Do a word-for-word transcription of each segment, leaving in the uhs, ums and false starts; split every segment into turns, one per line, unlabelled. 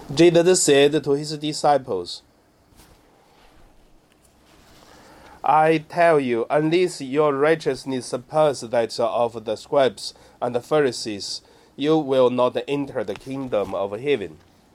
Jesus said to his disciples, I tell you, unless your righteousness surpasses that of the scribes and the Pharisees, you will not enter the kingdom of heaven.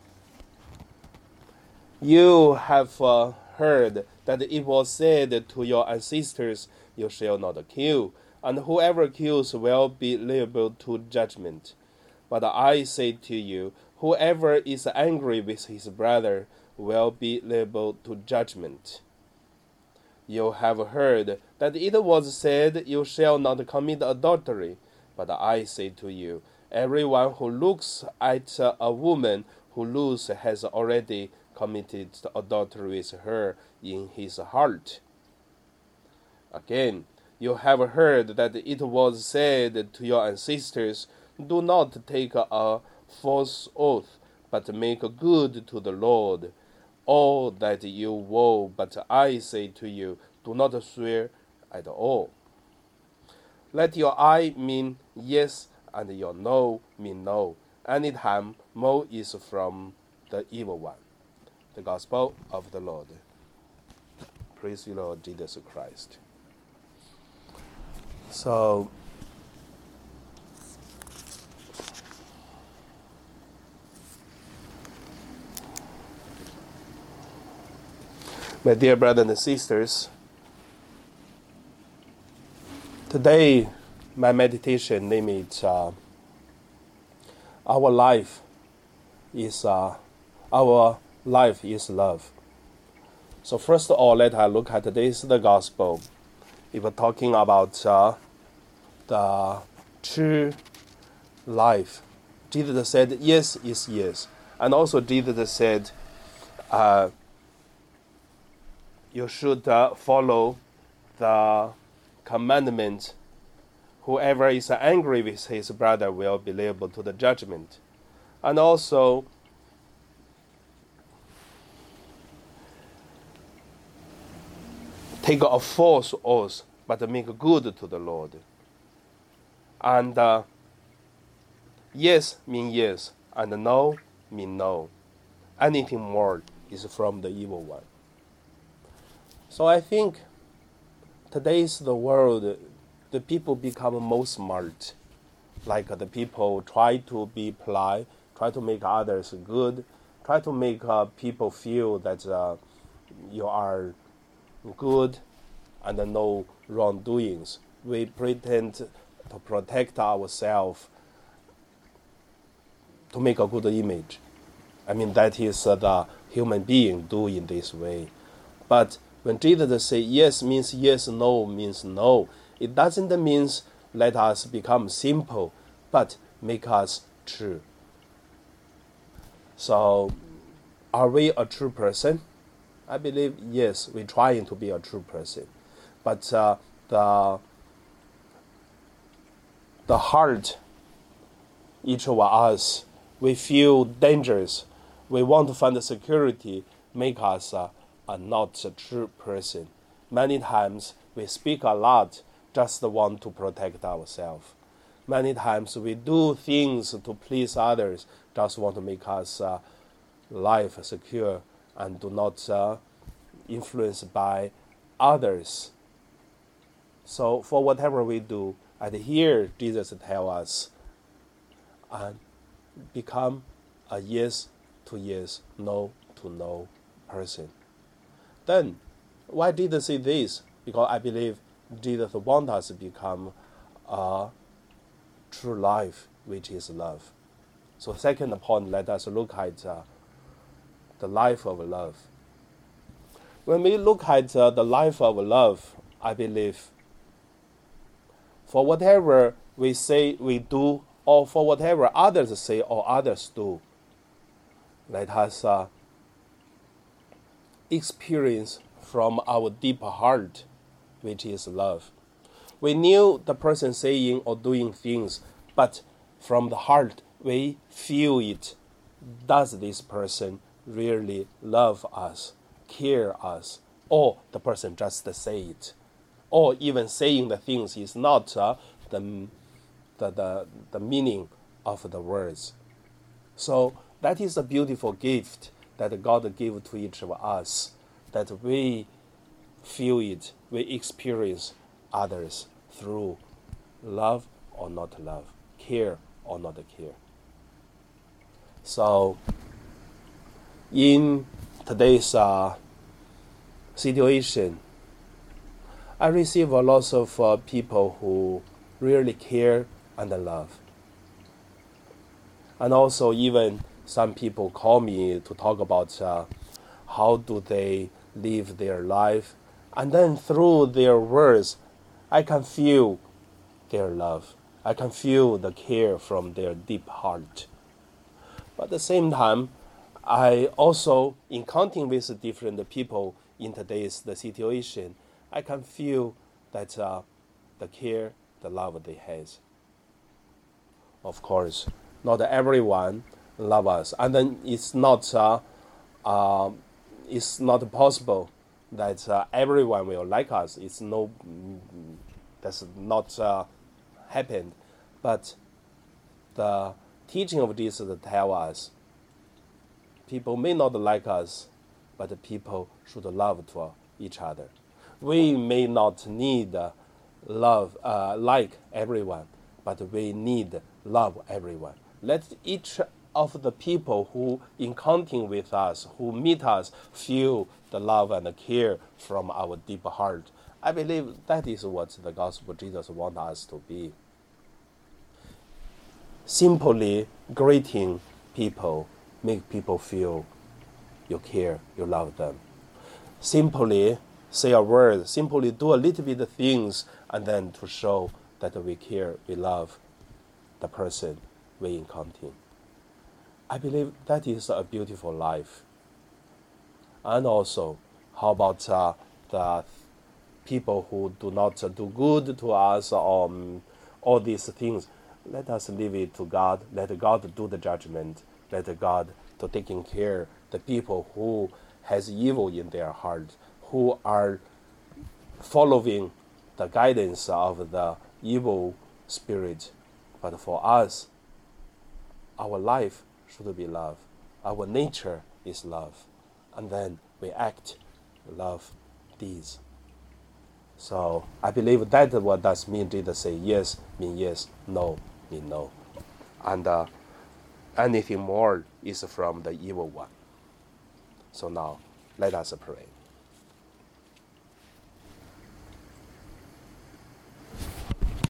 You have uh, heard that it was said to your ancestors, you shall not kill, and whoever kills will be liable to judgment. But I say to you, whoever is angry with his brother will be liable to judgment. You have heard that it was said, you shall not commit adultery. But I say to you, everyone who looks at a woman who looks has already committed adultery with her in his heart. Again, you have heard that it was said to your ancestors, do not take a false oath, but make good to the Lord all that you vow. But I say to you, do not swear at all. Let your aye mean yes, and your no mean no. Anytime no is from the evil one. The Gospel of the Lord. Praise you, Lord Jesus Christ. So, my dear brothers and sisters, today my meditation name is uh, Our life is uh, our life is love. So first of all, let us look at this the gospel. If we're talking about uh, the true life, Jesus said yes is yes, and also Jesus said uh, you should uh, follow the commandment. Whoever is angry with his brother will be liable to the judgment. And also, take a false oath, but make good to the Lord. And uh, yes mean yes, and no mean no. Anything more is from the evil one. So I think today's the world, the people become more smart. Like the people try to be polite, try to make others good, try to make uh, people feel that uh, you are good and no wrongdoings. We pretend to protect ourselves to make a good image. I mean, that is uh, the human being do in this way. But when Jesus says yes means yes, no means no, it doesn't mean let us become simple, but make us true. So, are we a true person? I believe, yes, we're trying to be a true person. But uh, the, the heart, each of us, we feel dangerous. We want to find the security, make us uh, are not a true person. Many times we speak a lot, just want to protect ourselves. Many times we do things to please others, just want to make us uh, life secure and do not uh, influenced by others. So for whatever we do, and here Jesus tells us, and become a yes to yes, no to no person. Then, why did Jesus say this? Because I believe Jesus wants us to become a true life, which is love. So second point, let us look at uh, the life of love. When we look at uh, the life of love, I believe for whatever we say we do, or for whatever others say or others do, let us uh, experience from our deep heart, which is love. We knew the person saying or doing things, but from the heart we feel it. Does this person really love us, care us, or the person just say it, or even saying the things is not uh, the, the the the meaning of the words. So That is a beautiful gift that God gave to each of us, that we feel it, we experience others through love or not love, care or not care. So, in today's uh, situation, I receive a lot of uh, people who really care and love. And also even some people call me to talk about uh, how do they live their life. And then through their words, I can feel their love. I can feel the care from their deep heart. But at the same time, I also, in counting with different people in today's the situation, I can feel that uh, the care, the love they have. Of course, not everyone love us, and then it's not uh, uh, it's not possible that uh, everyone will like us. It's no, that's not uh, happened. But the teaching of Jesus tell us, people may not like us, but people should love to each other. We may not need love uh, like everyone, but we need love everyone. Let each of the people who encountering with us, who meet us, feel the love and the care from our deep heart. I believe that is what the gospel of Jesus wants us to be. Simply greeting people, make people feel you care, you love them. Simply say a word, simply do a little bit of things, and then to show that we care, we love the person we encounter. I believe that is a beautiful life. And also, how about uh, the people who do not uh, do good to us, or um, all these things? Let us leave it to God. Let God do the judgment. Let God to taking care the people who has evil in their heart, who are following the guidance of the evil spirit. But for us, our life should be love. Our nature is love. And then we act love deeds. So I believe that what does mean Jesus say yes, mean yes, no, mean no. And uh, anything more is from the evil one. So now, let us pray.